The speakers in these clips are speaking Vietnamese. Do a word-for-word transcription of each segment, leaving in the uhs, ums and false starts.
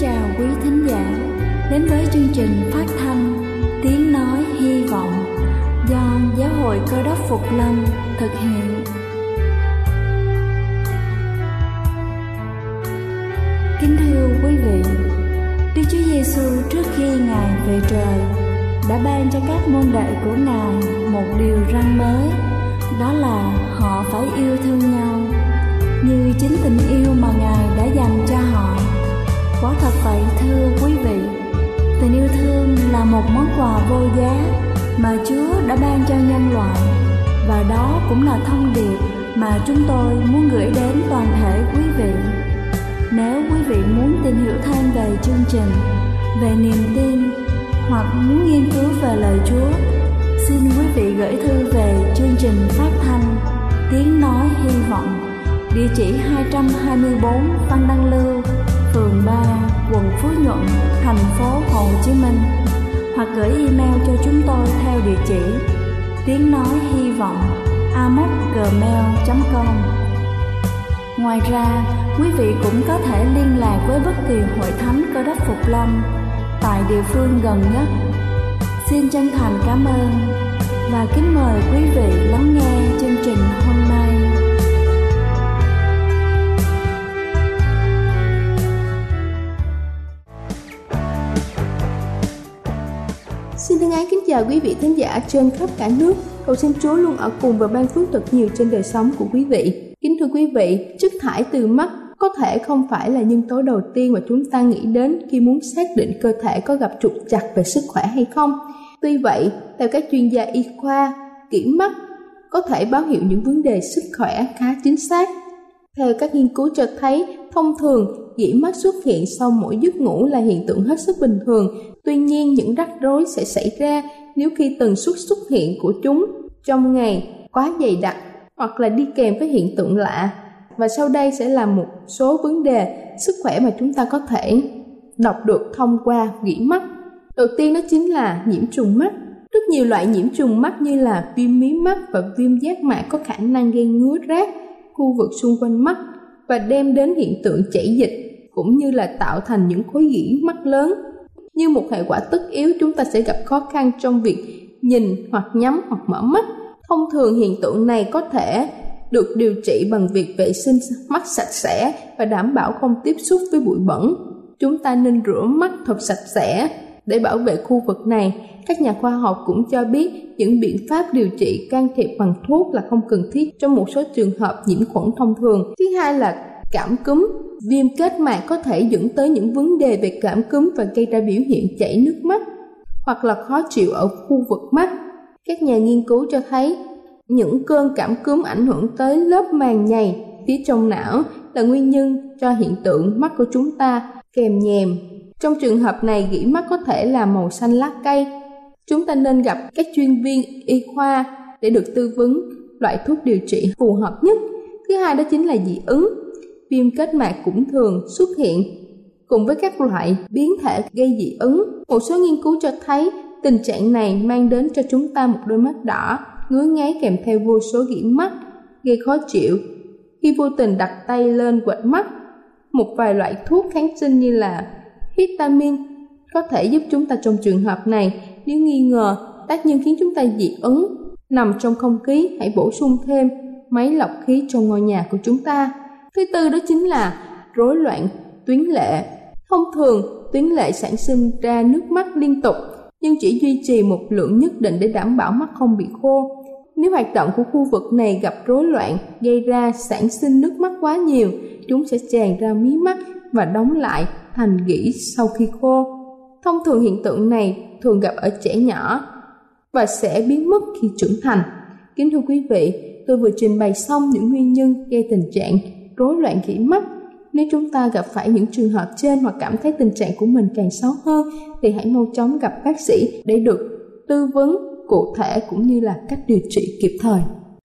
chào quý thính giả đến với chương trình phát thanh Tiếng Nói Hy Vọng do Giáo hội Cơ Đốc Phục Lâm thực hiện. Kính thưa quý vị, Đức Chúa Giêsu trước khi Ngài về trời đã ban cho các môn đệ của Ngài một điều răn mới, đó là họ phải yêu thương nhau như chính tình yêu mà Ngài đã dành cho họ. Quả thật vậy thưa quý vị, tình yêu thương là một món quà vô giá mà Chúa đã ban cho nhân loại, và đó cũng là thông điệp mà chúng tôi muốn gửi đến toàn thể quý vị. Nếu quý vị muốn tìm hiểu thêm về chương trình, về niềm tin hoặc muốn nghiên cứu về lời Chúa, xin quý vị gửi thư về chương trình phát thanh Tiếng Nói Hy Vọng, địa chỉ hai trăm hai mươi tư Phan Đăng Lưu, phường ba, quận Phú Nhuận, thành phố Hồ Chí Minh, hoặc gửi email cho chúng tôi theo địa chỉ tiếng nói hy vọng a m o c gmail chấm com. Ngoài ra, quý vị cũng có thể liên lạc với bất kỳ hội thánh Cơ Đốc Phục Lâm tại địa phương gần nhất. Xin chân thành cảm ơn và kính mời quý vị lắng nghe chương trình hôm nay. Xin thân ái kính chào quý vị thính giả trên khắp cả nước. Cầu xin Chúa luôn ở cùng và ban phước thật nhiều trên đời sống của quý vị. Kính thưa quý vị, chất thải từ mắt có thể không phải là nhân tố đầu tiên mà chúng ta nghĩ đến khi muốn xác định cơ thể có gặp trục trặc về sức khỏe hay không. Tuy vậy, theo các chuyên gia y khoa, kiểm mắt có thể báo hiệu những vấn đề sức khỏe khá chính xác. Theo các nghiên cứu cho thấy, thông thường dỉ mắt xuất hiện sau mỗi giấc ngủ là hiện tượng hết sức bình thường. Tuy nhiên, những rắc rối sẽ xảy ra nếu khi tần suất xuất hiện của chúng trong ngày quá dày đặc hoặc là đi kèm với hiện tượng lạ. Và sau đây sẽ là một số vấn đề sức khỏe mà chúng ta có thể đọc được thông qua dỉ mắt. Đầu tiên đó chính là nhiễm trùng mắt. Rất nhiều loại nhiễm trùng mắt như là viêm mí mắt và viêm giác mạc có khả năng gây ngứa rát khu vực xung quanh mắt và đem đến hiện tượng chảy dịch cũng như là tạo thành những khối gỉ mắt lớn. Như một hệ quả tất yếu, chúng ta sẽ gặp khó khăn trong việc nhìn hoặc nhắm hoặc mở mắt. Thông thường hiện tượng này có thể được điều trị bằng việc vệ sinh mắt sạch sẽ và đảm bảo không tiếp xúc với bụi bẩn. Chúng ta nên rửa mắt thật sạch sẽ để bảo vệ khu vực này. Các nhà khoa học cũng cho biết những biện pháp điều trị can thiệp bằng thuốc là không cần thiết trong một số trường hợp nhiễm khuẩn thông thường. Thứ hai là cảm cúm. Viêm kết mạc có thể dẫn tới những vấn đề về cảm cúm và gây ra biểu hiện chảy nước mắt hoặc là khó chịu ở khu vực mắt. Các nhà nghiên cứu cho thấy những cơn cảm cúm ảnh hưởng tới lớp màng nhầy phía trong não là nguyên nhân cho hiện tượng mắt của chúng ta kèm nhèm. Trong trường hợp này, gỉ mắt có thể là màu xanh lá cây. Chúng ta nên gặp các chuyên viên y khoa để được tư vấn loại thuốc điều trị phù hợp nhất. Thứ hai đó chính là dị ứng. Viêm kết mạc cũng thường xuất hiện cùng với các loại biến thể gây dị ứng. Một số nghiên cứu cho thấy tình trạng này mang đến cho chúng ta một đôi mắt đỏ, ngứa ngáy kèm theo vô số gỉ mắt, gây khó chịu. Khi vô tình đặt tay lên quệt mắt, một vài loại thuốc kháng sinh như là histamine có thể giúp chúng ta trong trường hợp này. Nếu nghi ngờ tác nhân khiến chúng ta dị ứng nằm trong không khí, hãy bổ sung thêm máy lọc khí trong ngôi nhà của chúng ta. Thứ tư đó chính là rối loạn tuyến lệ. Thông thường, tuyến lệ sản sinh ra nước mắt liên tục nhưng chỉ duy trì một lượng nhất định để đảm bảo mắt không bị khô. Nếu hoạt động của khu vực này gặp rối loạn gây ra sản sinh nước mắt quá nhiều, chúng sẽ tràn ra mí mắt và đóng lại thành gỉ sau khi khô. Thông thường hiện tượng này thường gặp ở trẻ nhỏ và sẽ biến mất khi trưởng thành. Kính thưa quý vị, tôi vừa trình bày xong những nguyên nhân gây tình trạng rối loạn gỉ mắt. Nếu chúng ta gặp phải những trường hợp trên hoặc cảm thấy tình trạng của mình càng xấu hơn thì hãy mau chóng gặp bác sĩ để được tư vấn cụ thể cũng như là cách điều trị kịp thời.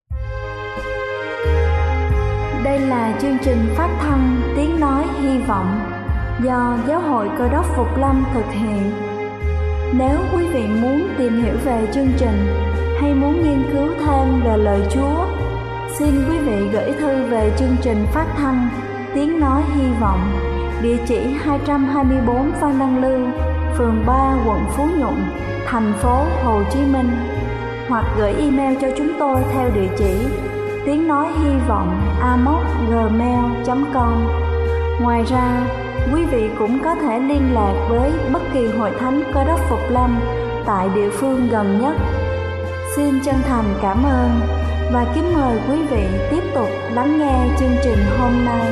Đây là chương trình phát thanh Tiếng Nói Hy Vọng do Giáo hội Cơ Đốc Phục Lâm thực hiện. Nếu quý vị muốn tìm hiểu về chương trình hay muốn nghiên cứu thêm về lời Chúa, xin quý vị gửi thư về chương trình phát thanh Tiếng Nói Hy Vọng, địa chỉ hai trăm hai mươi bốn Phan Đăng Lưu, phường ba, quận Phú Nhuận, thành phố Hồ Chí Minh, hoặc gửi email cho chúng tôi theo địa chỉ tiếng nói hy vọng a m o s gmail chấm com. Ngoài ra, quý vị cũng có thể liên lạc với bất kỳ hội thánh Cơ Đốc Phục Lâm tại địa phương gần nhất. Xin chân thành cảm ơn và kính mời quý vị tiếp tục lắng nghe chương trình hôm nay.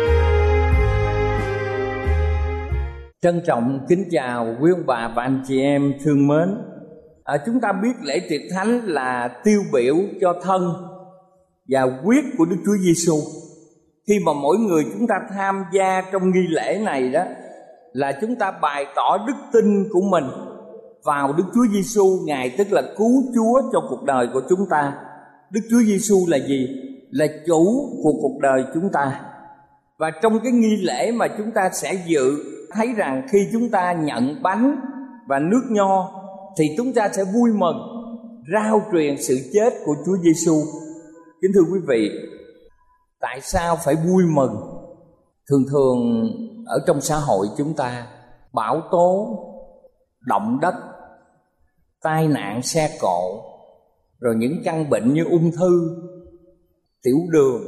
Trân trọng kính chào quý ông bà và anh chị em thương mến. À, chúng ta biết lễ tiệc thánh là tiêu biểu cho thân và huyết của Đức Chúa Giêsu. Khi mà mỗi người chúng ta tham gia trong nghi lễ này đó, là chúng ta bày tỏ đức tin của mình vào Đức Chúa Giêsu, Ngài tức là cứu Chúa cho cuộc đời của chúng ta. Đức Chúa Giêsu là gì? Là chủ của cuộc đời chúng ta. Và trong cái nghi lễ mà chúng ta sẽ dự, thấy rằng khi chúng ta nhận bánh và nước nho thì chúng ta sẽ vui mừng rao truyền sự chết của Chúa Giêsu. Kính thưa quý vị, tại sao phải vui mừng? Thường thường ở trong xã hội chúng ta, bão tố, động đất, tai nạn xe cộ, rồi những căn bệnh như ung thư, tiểu đường,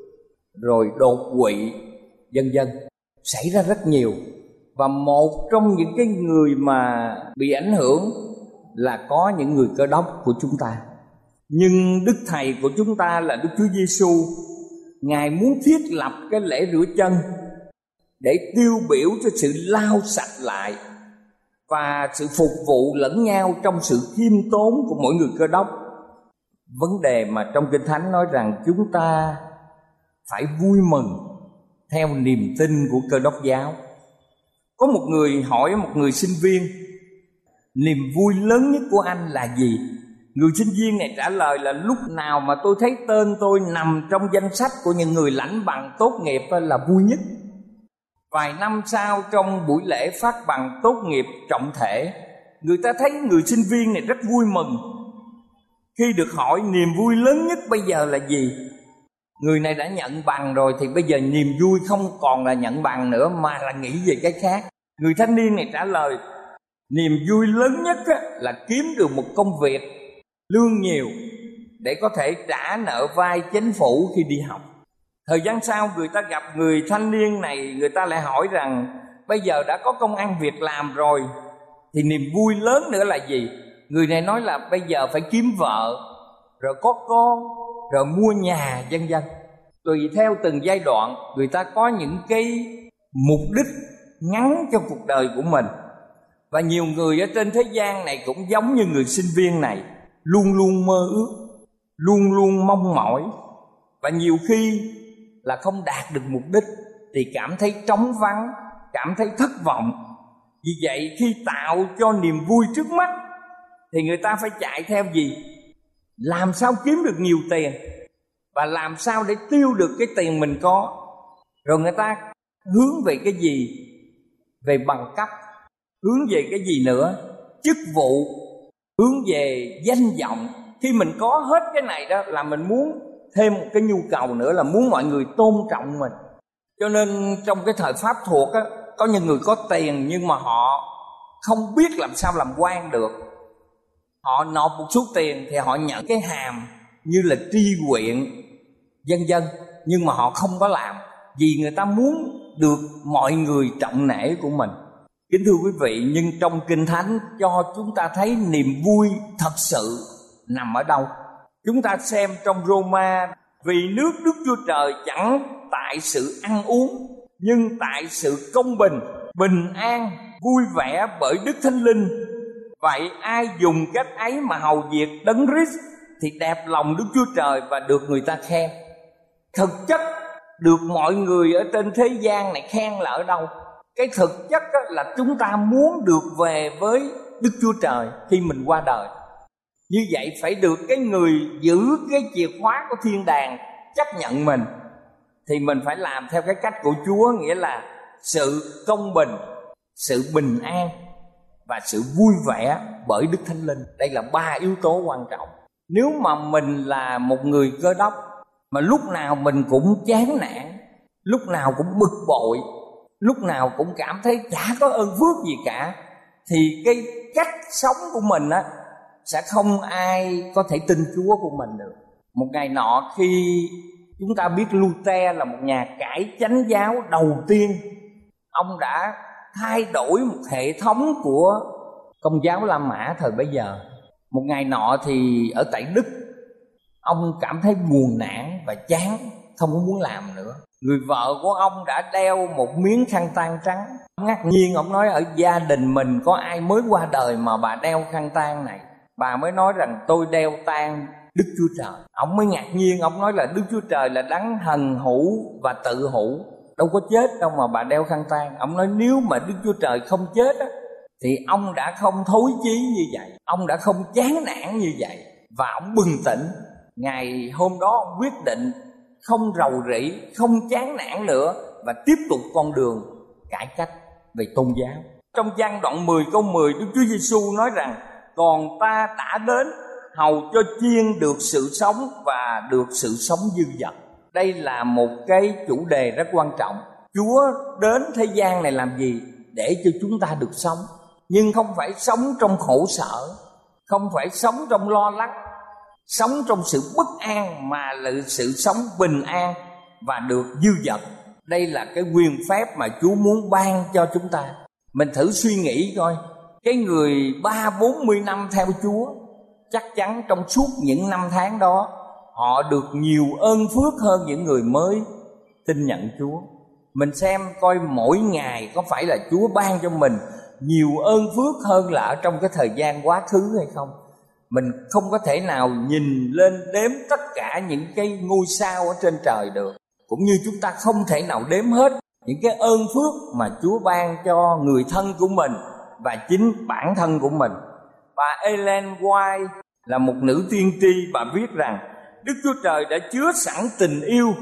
rồi đột quỵ, vân vân xảy ra rất nhiều. Và một trong những cái người mà bị ảnh hưởng là có những người Cơ Đốc của chúng ta. Nhưng Đức Thầy của chúng ta là Đức Chúa Giêsu, Ngài muốn thiết lập cái lễ rửa chân để tiêu biểu cho sự lau sạch lại và sự phục vụ lẫn nhau trong sự khiêm tốn của mỗi người Cơ Đốc. Vấn đề mà trong Kinh Thánh nói rằng chúng ta phải vui mừng theo niềm tin của Cơ Đốc giáo. Có một người hỏi một người sinh viên, niềm vui lớn nhất của anh là gì? Người sinh viên này trả lời là lúc nào mà tôi thấy tên tôi nằm trong danh sách của những người lãnh bằng tốt nghiệp là vui nhất. Vài năm sau, trong buổi lễ phát bằng tốt nghiệp trọng thể, người ta thấy người sinh viên này rất vui mừng. Khi được hỏi niềm vui lớn nhất bây giờ là gì, người này đã nhận bằng rồi thì bây giờ niềm vui không còn là nhận bằng nữa mà là nghĩ về cái khác. Người thanh niên này trả lời, niềm vui lớn nhất là kiếm được một công việc lương nhiều để có thể trả nợ vay chính phủ khi đi học. Thời gian sau, người ta gặp người thanh niên này, người ta lại hỏi rằng bây giờ đã có công ăn việc làm rồi thì niềm vui lớn nữa là gì? Người này nói là bây giờ phải kiếm vợ, rồi có con, rồi mua nhà, vân vân. Tùy theo từng giai đoạn, người ta có những cái mục đích ngắn cho cuộc đời của mình. Và nhiều người ở trên thế gian này cũng giống như người sinh viên này, luôn luôn mơ ước, luôn luôn mong mỏi, và nhiều khi là không đạt được mục đích thì cảm thấy trống vắng, cảm thấy thất vọng. Vì vậy khi tạo cho niềm vui trước mắt thì người ta phải chạy theo gì? Làm sao kiếm được nhiều tiền, và làm sao để tiêu được cái tiền mình có. Rồi người ta hướng về cái gì? Về bằng cấp. Hướng về cái gì nữa? Chức vụ. Hướng về danh vọng. Khi mình có hết cái này đó là mình muốn thêm một cái nhu cầu nữa là muốn mọi người tôn trọng mình. Cho nên trong cái thời Pháp thuộc á, có những người có tiền nhưng mà họ không biết làm sao làm quan được. Họ nộp một số tiền thì họ nhận cái hàm như là tri huyện, vân vân, nhưng mà họ không có làm vì người ta muốn được mọi người trọng nể của mình. Kính thưa quý vị, nhưng trong Kinh Thánh cho chúng ta thấy niềm vui thật sự nằm ở đâu. Chúng ta xem trong Roma, vì nước Đức Chúa Trời chẳng tại sự ăn uống, nhưng tại sự công bình, bình an, vui vẻ bởi Đức Thánh Linh. Vậy ai dùng cách ấy mà hầu việc Đấng Christ thì đẹp lòng Đức Chúa Trời và được người ta khen. Thực chất được mọi người ở trên thế gian này khen là ở đâu? Cái thực chất là chúng ta muốn được về với Đức Chúa Trời khi mình qua đời. Như vậy phải được cái người giữ cái chìa khóa của thiên đàng chấp nhận mình, thì mình phải làm theo cái cách của Chúa, nghĩa là sự công bình, sự bình an và sự vui vẻ bởi Đức Thánh Linh. Đây là ba yếu tố quan trọng. Nếu mà mình là một người Cơ Đốc mà lúc nào mình cũng chán nản, lúc nào cũng bực bội, lúc nào cũng cảm thấy chả có ơn phước gì cả, thì cái cách sống của mình á sẽ không ai có thể tin Chúa của mình được. Một ngày nọ khi chúng ta biết Luther là một nhà cải chánh giáo đầu tiên, ông đã thay đổi một hệ thống của Công giáo La Mã thời bấy giờ. Một ngày nọ thì ở tại Đức, ông cảm thấy buồn nản và chán, không có muốn làm nữa. Người vợ của ông đã đeo một miếng khăn tang trắng. Ngạc nhiên, ông nói ở gia đình mình có ai mới qua đời mà bà đeo khăn tang này. Bà mới nói rằng tôi đeo tang Đức Chúa Trời. Ông mới ngạc nhiên, ông nói là Đức Chúa Trời là đấng hằng hữu và tự hữu, đâu có chết đâu mà bà đeo khăn tang. Ông nói nếu mà Đức Chúa Trời không chết á, thì ông đã không thối chí như vậy, ông đã không chán nản như vậy. Và ông bừng tỉnh. Ngày hôm đó ông quyết định không rầu rĩ, không chán nản nữa, và tiếp tục con đường cải cách về tôn giáo. Trong Giăng đoạn mười câu mười, Đức Chúa Giêsu nói rằng còn ta đã đến hầu cho chiên được sự sống và được sự sống dư dật. Đây là một cái chủ đề rất quan trọng. Chúa đến thế gian này làm gì? Để cho chúng ta được sống, nhưng không phải sống trong khổ sở, không phải sống trong lo lắng, sống trong sự bất an, mà là sự sống bình an và được dư dật. Đây là cái quyền phép mà Chúa muốn ban cho chúng ta. Mình thử suy nghĩ coi, cái người ba bốn mươi năm theo Chúa, chắc chắn trong suốt những năm tháng đó họ được nhiều ơn phước hơn những người mới tin nhận Chúa. Mình xem coi mỗi ngày có phải là Chúa ban cho mình nhiều ơn phước hơn là ở trong cái thời gian quá khứ hay không. Mình không có thể nào nhìn lên đếm tất cả những cái ngôi sao ở trên trời được, cũng như chúng ta không thể nào đếm hết những cái ơn phước mà Chúa ban cho người thân của mình và chính bản thân của mình. Bà Ellen White là một nữ tiên tri, bà viết rằng Đức Chúa Trời đã chứa sẵn tình yêu,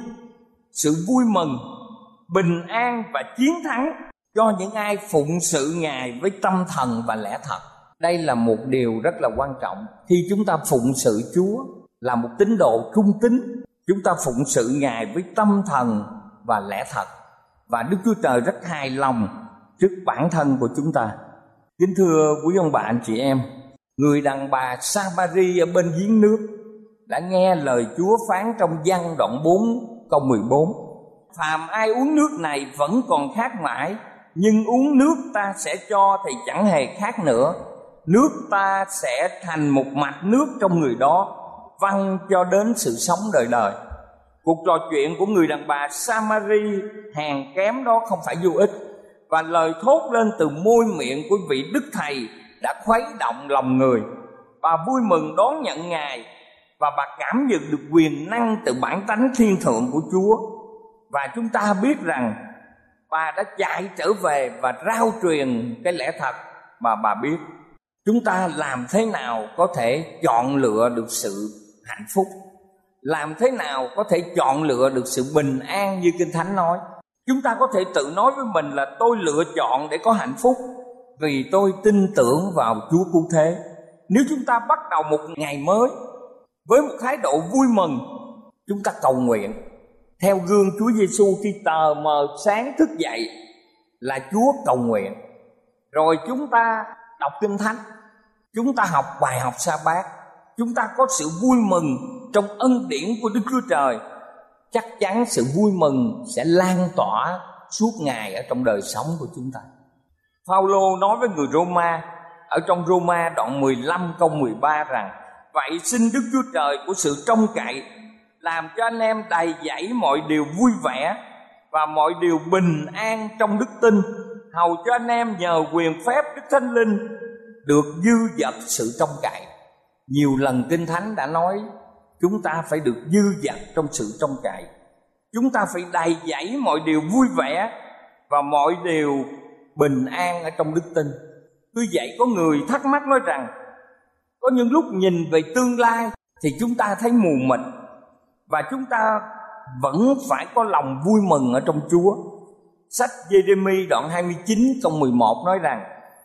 sự vui mừng, bình an và chiến thắng cho những ai phụng sự Ngài với tâm thần và lẽ thật. Đây là một điều rất là quan trọng. Khi chúng ta phụng sự Chúa là một tín đồ trung tín, chúng ta phụng sự Ngài với tâm thần và lẽ thật, và Đức Chúa Trời rất hài lòng trước bản thân của chúng ta. Kính thưa quý ông bà anh chị em, người đàn bà Sa-ma-ri ở bên giếng nước đã nghe lời Chúa phán trong Giăng đoạn bốn câu mười bốn: phàm ai uống nước này vẫn còn khát mãi, nhưng uống nước ta sẽ cho thì chẳng hề khát nữa. Nước ta sẽ thành một mạch nước trong người đó, văng cho đến sự sống đời đời. Cuộc trò chuyện của người đàn bà Sa-ma-ri hèn kém đó không phải vô ích, và lời thốt lên từ môi miệng của vị Đức Thầy đã khuấy động lòng người. Bà vui mừng đón nhận Ngài, và bà cảm nhận được quyền năng từ bản tánh thiên thượng của Chúa. Và chúng ta biết rằng bà đã chạy trở về và rao truyền cái lẽ thật mà bà biết. Chúng ta làm thế nào có thể chọn lựa được sự hạnh phúc? Làm thế nào có thể chọn lựa được sự bình an như Kinh Thánh nói? Chúng ta có thể tự nói với mình là tôi lựa chọn để có hạnh phúc vì tôi tin tưởng vào Chúa cứu thế. Nếu chúng ta bắt đầu một ngày mới với một thái độ vui mừng, chúng ta cầu nguyện theo gương Chúa Giêsu. Khi tờ mờ sáng thức dậy là Chúa cầu nguyện, rồi chúng ta đọc Kinh Thánh, chúng ta học bài học sa bát, chúng ta có sự vui mừng trong ân điển của Đức Chúa Trời. Chắc chắn sự vui mừng sẽ lan tỏa suốt ngày ở trong đời sống của chúng ta. Phaolô nói với người Roma ở trong Roma đoạn mười lăm câu mười ba rằng: vậy xin Đức Chúa Trời của sự trông cậy làm cho anh em đầy dẫy mọi điều vui vẻ và mọi điều bình an trong đức tin, hầu cho anh em nhờ quyền phép Đức Thánh Linh được dư dật sự trông cậy. Nhiều lần Kinh Thánh đã nói chúng ta phải được dư dật trong sự trông cậy. Chúng ta phải đầy dẫy mọi điều vui vẻ và mọi điều bình an ở trong đức tin. Tuy vậy có người thắc mắc nói rằng có những lúc nhìn về tương lai thì chúng ta thấy mù mịt, và chúng ta vẫn phải có lòng vui mừng ở trong Chúa. Sách Giê-rê-mi đoạn hai mươi chín câu mười một nói rằng: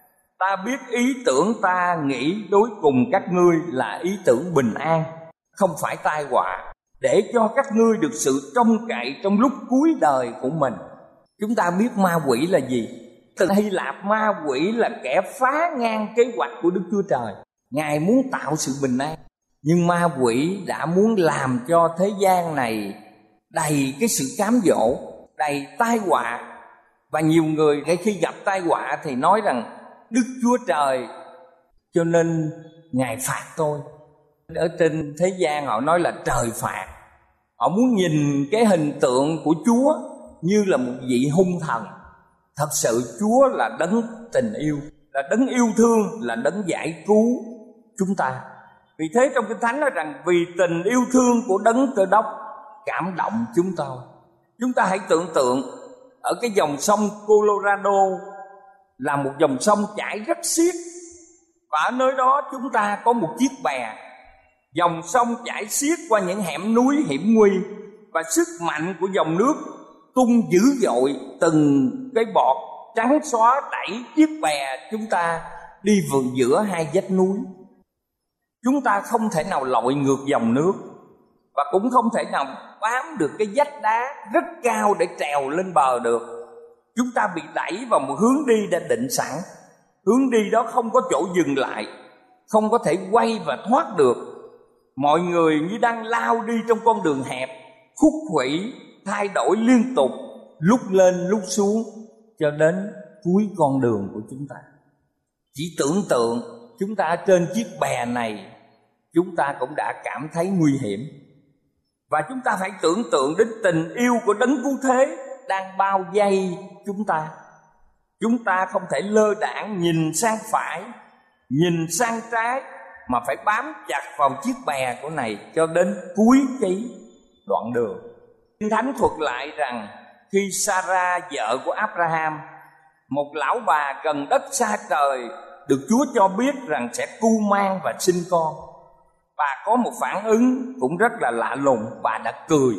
ta biết ý tưởng ta nghĩ đối cùng các ngươi là ý tưởng bình an, không phải tai họa, để cho các ngươi được sự trông cậy trong lúc cuối đời của mình. Chúng ta biết ma quỷ là gì? Từ Hy Lạp, ma quỷ là kẻ phá ngang kế hoạch của Đức Chúa Trời. Ngài muốn tạo sự bình an, nhưng ma quỷ đã muốn làm cho thế gian này đầy cái sự cám dỗ, đầy tai họa. Và nhiều người khi gặp tai họa thì nói rằng Đức Chúa Trời cho nên Ngài phạt tôi. Ở trên thế gian họ nói là trời phạt. Họ muốn nhìn cái hình tượng của Chúa như là một vị hung thần. Thật sự Chúa là đấng tình yêu, là đấng yêu thương, là đấng giải cứu chúng ta. Vì thế trong Kinh Thánh nói rằng vì tình yêu thương của đấng Cơ Đốc cảm động chúng tôi. Chúng ta hãy tưởng tượng ở cái dòng sông Colorado là một dòng sông chảy rất xiết, và ở nơi đó chúng ta có một chiếc bè. Dòng sông chảy xiết qua những hẻm núi hiểm nguy, và sức mạnh của dòng nước tung dữ dội, từng cái bọt trắng xóa đẩy chiếc bè chúng ta đi vượt giữa hai vách núi. Chúng ta không thể nào lội ngược dòng nước, và cũng không thể nào bám được cái vách đá rất cao để trèo lên bờ được. Chúng ta bị đẩy vào một hướng đi đã định sẵn. Hướng đi đó không có chỗ dừng lại, không có thể quay và thoát được. Mọi người như đang lao đi trong con đường hẹp, khúc khuỷu, thay đổi liên tục, lúc lên lúc xuống, cho đến cuối con đường của chúng ta. Chỉ tưởng tượng chúng ta trên chiếc bè này, chúng ta cũng đã cảm thấy nguy hiểm. Và chúng ta phải tưởng tượng đến tình yêu của đấng cứu thế đang bao vây chúng ta. Chúng ta không thể lơ đãng nhìn sang phải, nhìn sang trái, mà phải bám chặt vào chiếc bè của này cho đến cuối cái đoạn đường. Kinh Thánh thuật lại rằng khi Sarah, vợ của Abraham, một lão bà gần đất xa trời, được Chúa cho biết rằng sẽ cưu mang và sinh con, bà có một phản ứng cũng rất là lạ lùng. Bà đã cười.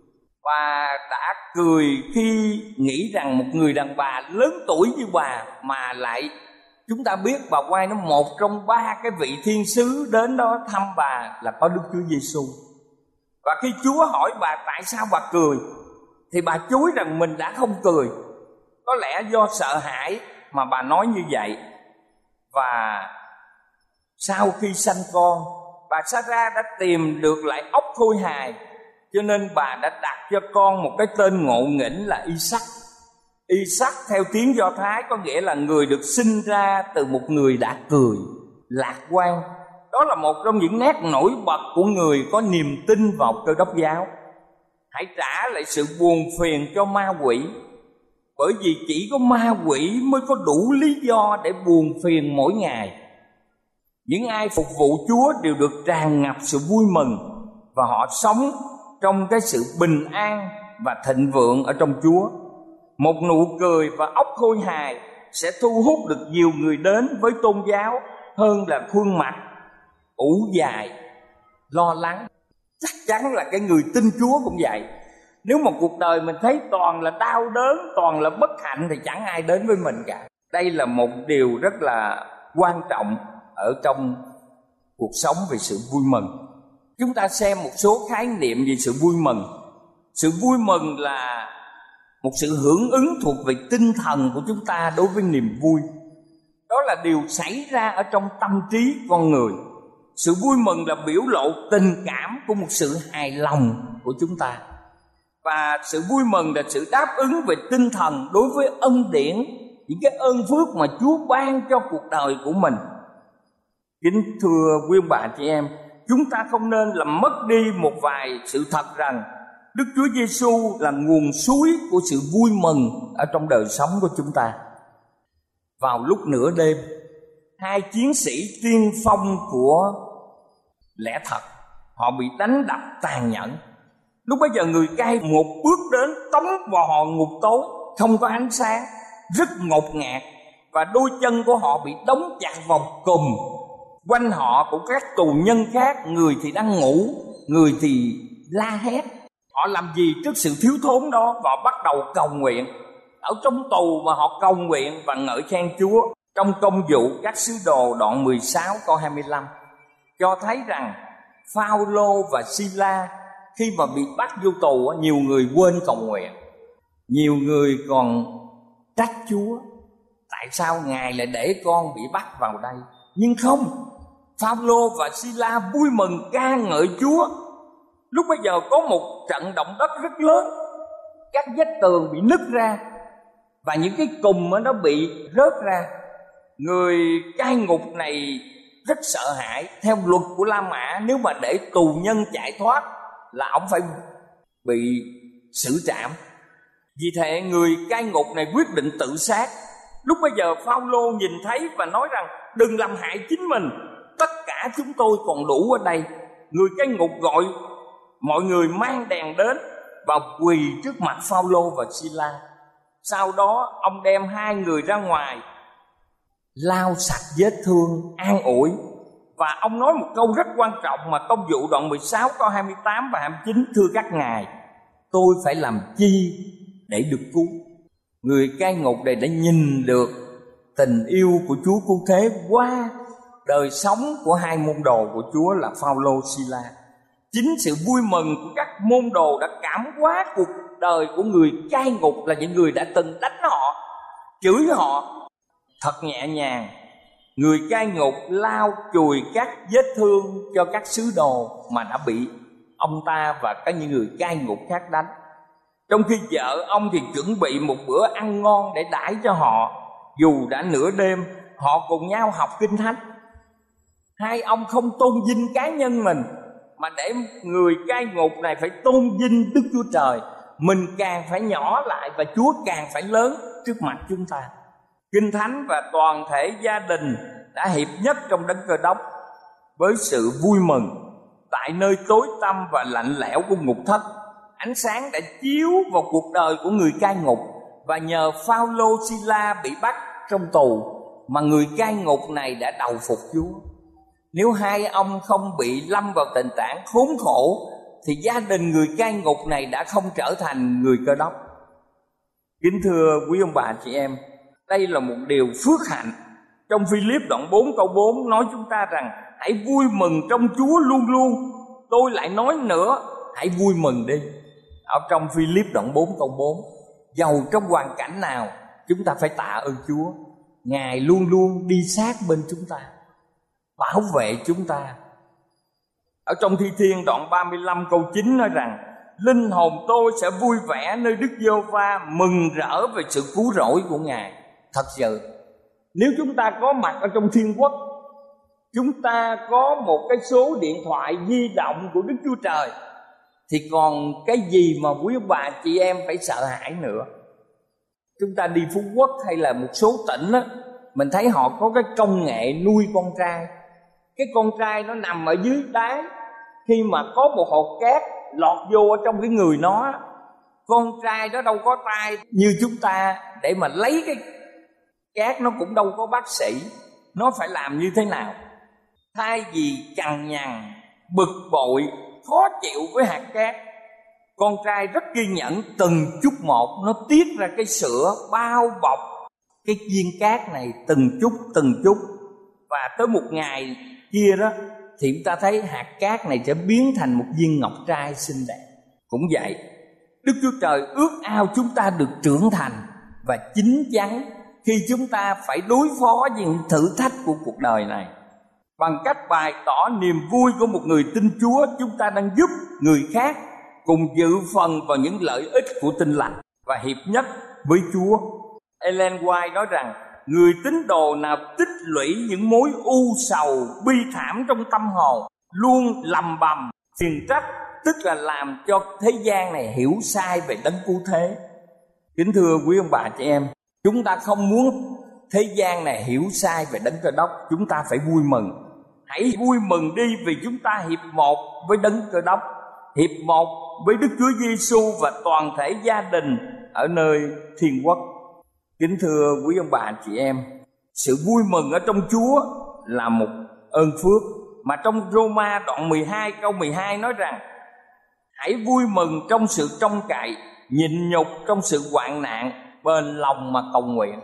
Bà đã cười khi nghĩ rằng một người đàn bà lớn tuổi như bà mà lại, chúng ta biết bà quay nó một trong ba cái vị thiên sứ đến đó thăm bà là có Đức Chúa Giêsu. Và khi Chúa hỏi bà tại sao bà cười, thì bà chối rằng mình đã không cười. Có lẽ do sợ hãi mà bà nói như vậy. Và sau khi sanh con, bà Sarah đã tìm được lại ốc khôi hài, cho nên bà đã đặt cho con một cái tên ngộ nghĩnh là Isaac. Isaac theo tiếng Do Thái có nghĩa là người được sinh ra từ một người đã cười, lạc quan. Đó là một trong những nét nổi bật của người có niềm tin vào Cơ Đốc giáo. Hãy trả lại sự buồn phiền cho ma quỷ, bởi vì chỉ có ma quỷ mới có đủ lý do để buồn phiền mỗi ngày. Những ai phục vụ Chúa đều được tràn ngập sự vui mừng, và họ sống trong cái sự bình an và thịnh vượng ở trong Chúa. Một nụ cười và óc khôi hài sẽ thu hút được nhiều người đến với tôn giáo hơn là khuôn mặt ủ dài, lo lắng. Chắc chắn là cái người tin Chúa cũng vậy. Nếu mà cuộc đời mình thấy toàn là đau đớn, toàn là bất hạnh, thì chẳng ai đến với mình cả. Đây là một điều rất là quan trọng ở trong cuộc sống về sự vui mừng. Chúng ta xem một số khái niệm về sự vui mừng. Sự vui mừng là một sự hưởng ứng thuộc về tinh thần của chúng ta đối với niềm vui. Đó là điều xảy ra ở trong tâm trí con người. Sự vui mừng là biểu lộ tình cảm của một sự hài lòng của chúng ta. Và sự vui mừng là sự đáp ứng về tinh thần đối với ân điển, những cái ơn phước mà Chúa ban cho cuộc đời của mình. Kính thưa quý ông bà chị em, chúng ta không nên làm mất đi một vài sự thật rằng Đức Chúa Giêsu là nguồn suối của sự vui mừng ở trong đời sống của chúng ta. Vào lúc nửa đêm, hai chiến sĩ tiên phong của lẽ thật, họ bị đánh đập tàn nhẫn. Lúc bấy giờ người cai một bước đến tống vào họ ngục tối, không có ánh sáng, rất ngột ngạt, và đôi chân của họ bị đóng chặt vào cùm. Quanh họ của các tù nhân khác, người thì đang ngủ, người thì la hét. Họ làm gì trước sự thiếu thốn đó? Và bắt đầu cầu nguyện. Ở trong tù mà họ cầu nguyện và ngợi khen Chúa. Trong Công vụ các sứ đồ đoạn mười sáu câu hai mươi lăm cho thấy rằng Phao-lô và Si-la khi mà bị bắt vô tù, nhiều người quên cầu nguyện. Nhiều người còn trách Chúa, tại sao Ngài lại để con bị bắt vào đây? Nhưng không, Phao-lô và Si-la vui mừng ca ngợi Chúa. Lúc bây giờ có một trận động đất rất lớn, các vách tường bị nứt ra và những cái cùm nó bị rớt ra. Người cai ngục này rất sợ hãi. Theo luật của La Mã, nếu mà để tù nhân chạy thoát là ông phải bị xử trảm. Vì thế người cai ngục này quyết định tự sát. Lúc bây giờ Phao-lô nhìn thấy và nói rằng: đừng làm hại chính mình, tất cả chúng tôi còn đủ ở đây. Người cai ngục gọi mọi người mang đèn đến và quỳ trước mặt Phao-lô và Si-la. Sau đó ông đem hai người ra ngoài, lau sạch vết thương, an ủi. Và ông nói một câu rất quan trọng mà Công vụ đoạn mười sáu câu hai mươi tám và hai mươi chín: thưa các ngài, tôi phải làm chi để được cứu? Người cai ngục này đã nhìn được tình yêu của Chúa Cứu Thế qua đời sống của hai môn đồ của Chúa là Phao-lô, Si-la. Chính sự vui mừng của các môn đồ đã cảm hóa cuộc đời của người cai ngục, là những người đã từng đánh họ, chửi họ thật nhẹ nhàng. Người cai ngục lau chùi các vết thương cho các sứ đồ mà đã bị ông ta và các những người cai ngục khác đánh. Trong khi vợ ông thì chuẩn bị một bữa ăn ngon để đãi cho họ. Dù đã nửa đêm, họ cùng nhau học Kinh Thánh. Hai ông không tôn vinh cá nhân mình, mà để người cai ngục này phải tôn vinh Đức Chúa Trời. Mình càng phải nhỏ lại và Chúa càng phải lớn trước mặt chúng ta. Kinh Thánh và toàn thể gia đình đã hiệp nhất trong Đấng Cơ Đốc với sự vui mừng. Tại nơi tối tăm và lạnh lẽo của ngục thất, ánh sáng đã chiếu vào cuộc đời của người cai ngục. Và nhờ Phao-lô, Si-la bị bắt trong tù mà người cai ngục này đã đầu phục Chúa. Nếu hai ông không bị lâm vào tình trạng khốn khổ thì gia đình người cai ngục này đã không trở thành người Cơ Đốc. Kính thưa quý ông bà chị em, đây là một điều phước hạnh. Trong Phi-líp đoạn bốn câu bốn nói chúng ta rằng: hãy vui mừng trong Chúa luôn luôn. Tôi lại nói nữa, hãy vui mừng đi. Ở trong Phi-líp đoạn bốn câu bốn, dầu trong hoàn cảnh nào chúng ta phải tạ ơn Chúa. Ngài luôn luôn đi sát bên chúng ta, bảo vệ chúng ta. Ở trong Thi Thiên đoạn ba mươi lăm câu chín nói rằng: linh hồn tôi sẽ vui vẻ nơi Đức Giê-hô-va, mừng rỡ về sự cứu rỗi của Ngài. Thật sự, nếu chúng ta có mặt ở trong thiên quốc, chúng ta có một cái số điện thoại di động của Đức Chúa Trời, thì còn cái gì mà quý ông bà chị em phải sợ hãi nữa. Chúng ta đi Phú Quốc hay là một số tỉnh á, mình thấy họ có cái công nghệ nuôi con trai. Cái con trai nó nằm ở dưới đáy, khi mà có một hột cát lọt vô ở trong cái người nó, con trai đó đâu có tay như chúng ta để mà lấy cái cát, nó cũng đâu có bác sĩ. Nó phải làm như thế nào? Thay vì cằn nhằn, bực bội, khó chịu với hạt cát, con trai rất kiên nhẫn, từng chút một nó tiết ra cái sữa bao bọc cái viên cát này từng chút từng chút. Và tới một ngày kia đó thì chúng ta thấy hạt cát này sẽ biến thành một viên ngọc trai xinh đẹp. Cũng vậy, Đức Chúa Trời ước ao chúng ta được trưởng thành và chín chắn khi chúng ta phải đối phó với những thử thách của cuộc đời này. Bằng cách bày tỏ niềm vui của một người tin Chúa, chúng ta đang giúp người khác cùng dự phần vào những lợi ích của Tin Lành và hiệp nhất với Chúa. Ellen White nói rằng: người tín đồ nào tích lũy những mối u sầu bi thảm trong tâm hồn, luôn lầm bầm phiền trách, tức là làm cho thế gian này hiểu sai về Đấng Cứu Thế. Kính thưa quý ông bà chị em, chúng ta không muốn thế gian này hiểu sai về Đấng Cơ Đốc. Chúng ta phải vui mừng. Hãy vui mừng đi, vì chúng ta hiệp một với Đấng Cơ Đốc, hiệp một với Đức Chúa Giêsu và toàn thể gia đình ở nơi thiên quốc. Kính thưa quý ông bà chị em, sự vui mừng ở trong Chúa là một ơn phước mà trong Roma đoạn mười hai câu mười hai nói rằng: hãy vui mừng trong sự trông cậy, nhịn nhục trong sự hoạn nạn, bền lòng mà cầu nguyện.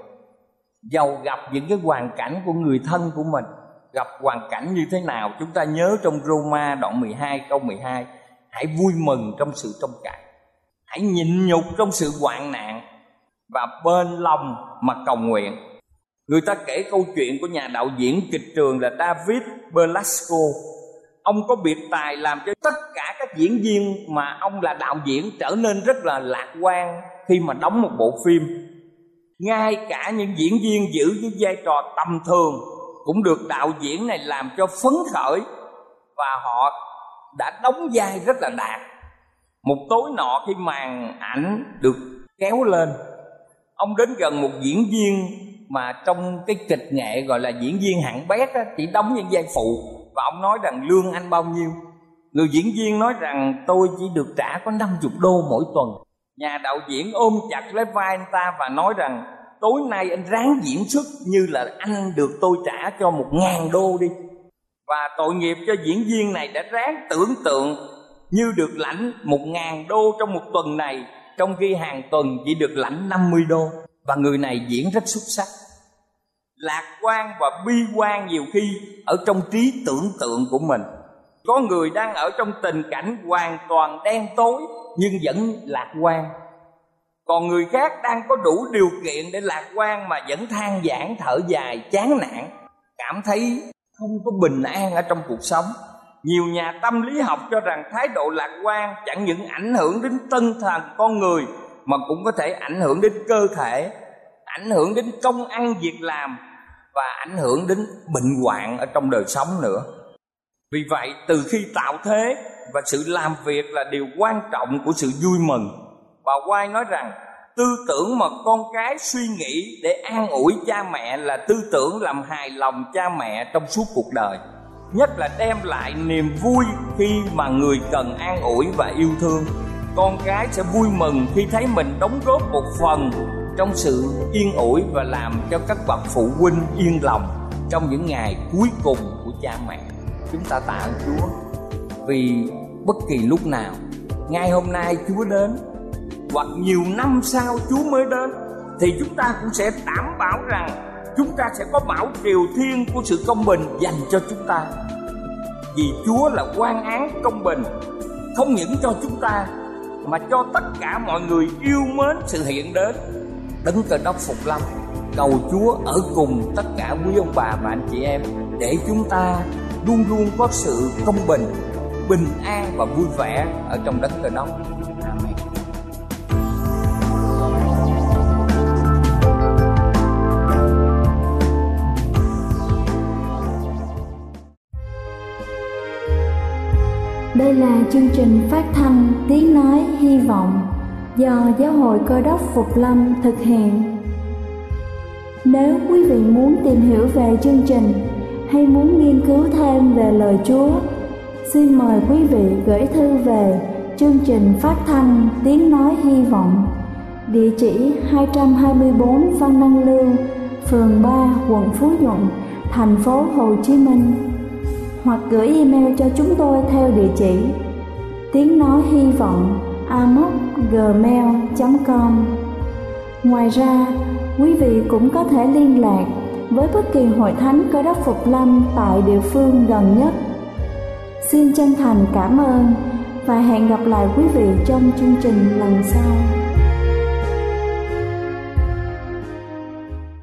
Dầu gặp những cái hoàn cảnh của người thân của mình, gặp hoàn cảnh như thế nào, chúng ta nhớ trong Roma đoạn mười hai câu mười hai: hãy vui mừng trong sự trông cậy. hãy nhịn nhục trong sự hoạn nạn và bên lòng mà cầu nguyện. Người ta kể câu chuyện của nhà đạo diễn kịch trường là David Belasco. Ông có biệt tài làm cho tất cả các diễn viên mà ông là đạo diễn trở nên rất là lạc quan khi mà đóng một bộ phim. Ngay cả những diễn viên giữ cái vai trò tầm thường cũng được đạo diễn này làm cho phấn khởi, và họ đã đóng vai rất là đạt. Một tối nọ khi màn ảnh được kéo lên, ông đến gần một diễn viên mà trong cái kịch nghệ gọi là diễn viên hạng bét á, chỉ đóng những vai phụ, và ông nói rằng lương anh bao nhiêu. Người diễn viên nói rằng tôi chỉ được trả có năm mươi đô mỗi tuần. Nhà đạo diễn ôm chặt lấy vai anh ta và nói rằng tối nay anh ráng diễn xuất như là anh được tôi trả cho một ngàn đô đi. Và tội nghiệp cho diễn viên này đã ráng tưởng tượng như được lãnh một ngàn đô trong một tuần này, trong khi hàng tuần chỉ được lãnh năm mươi đô. Và người này diễn rất xuất sắc. Lạc quan và bi quan nhiều khi ở trong trí tưởng tượng của mình. Có người đang ở trong tình cảnh hoàn toàn đen tối nhưng vẫn lạc quan. Còn người khác đang có đủ điều kiện để lạc quan mà vẫn than vãn thở dài chán nản, cảm thấy không có bình an ở trong cuộc sống. Nhiều nhà tâm lý học cho rằng thái độ lạc quan chẳng những ảnh hưởng đến tinh thần con người mà cũng có thể ảnh hưởng đến cơ thể, ảnh hưởng đến công ăn việc làm và ảnh hưởng đến bệnh hoạn ở trong đời sống nữa. Vì vậy từ khi tạo thế và sự làm việc là điều quan trọng của sự vui mừng. Bà White nói rằng tư tưởng mà con cái suy nghĩ để an ủi cha mẹ là tư tưởng làm hài lòng cha mẹ trong suốt cuộc đời, nhất là đem lại niềm vui khi mà người cần an ủi và yêu thương. Con cái sẽ vui mừng khi thấy mình đóng góp một phần trong sự yên ủi và làm cho các bậc phụ huynh yên lòng trong những ngày cuối cùng của cha mẹ. Chúng ta tạ ơn Chúa vì bất kỳ lúc nào, ngay hôm nay Chúa đến hoặc nhiều năm sau Chúa mới đến, thì chúng ta cũng sẽ đảm bảo rằng chúng ta sẽ có bảo triều thiên của sự công bình dành cho chúng ta. Vì Chúa là quan án công bình, không những cho chúng ta mà cho tất cả mọi người yêu mến sự hiện đến Đấng Cơ Đốc Phục Lâm. Cầu Chúa ở cùng tất cả quý ông bà và anh chị em để chúng ta luôn luôn có sự công bình, bình an và vui vẻ ở trong Đấng Cơ Đốc. Amen. Đây là chương trình phát thanh Tiếng Nói Hy Vọng do Giáo hội Cơ Đốc Phục Lâm thực hiện. Nếu quý vị muốn tìm hiểu về chương trình hay muốn nghiên cứu thêm về lời Chúa, xin mời quý vị gửi thư về chương trình phát thanh Tiếng Nói Hy Vọng, địa chỉ hai trăm hai mươi bốn Phan Đăng Lưu, phường ba, quận Phú Nhuận, thành phố Hồ Chí Minh, hoặc gửi email cho chúng tôi theo địa chỉ tiếng nói hy vọng a m o c gmail chấm com. Ngoài ra, quý vị cũng có thể liên lạc với bất kỳ hội thánh Cơ Đốc Phục Lâm tại địa phương gần nhất. Xin chân thành cảm ơn và hẹn gặp lại quý vị trong chương trình lần sau.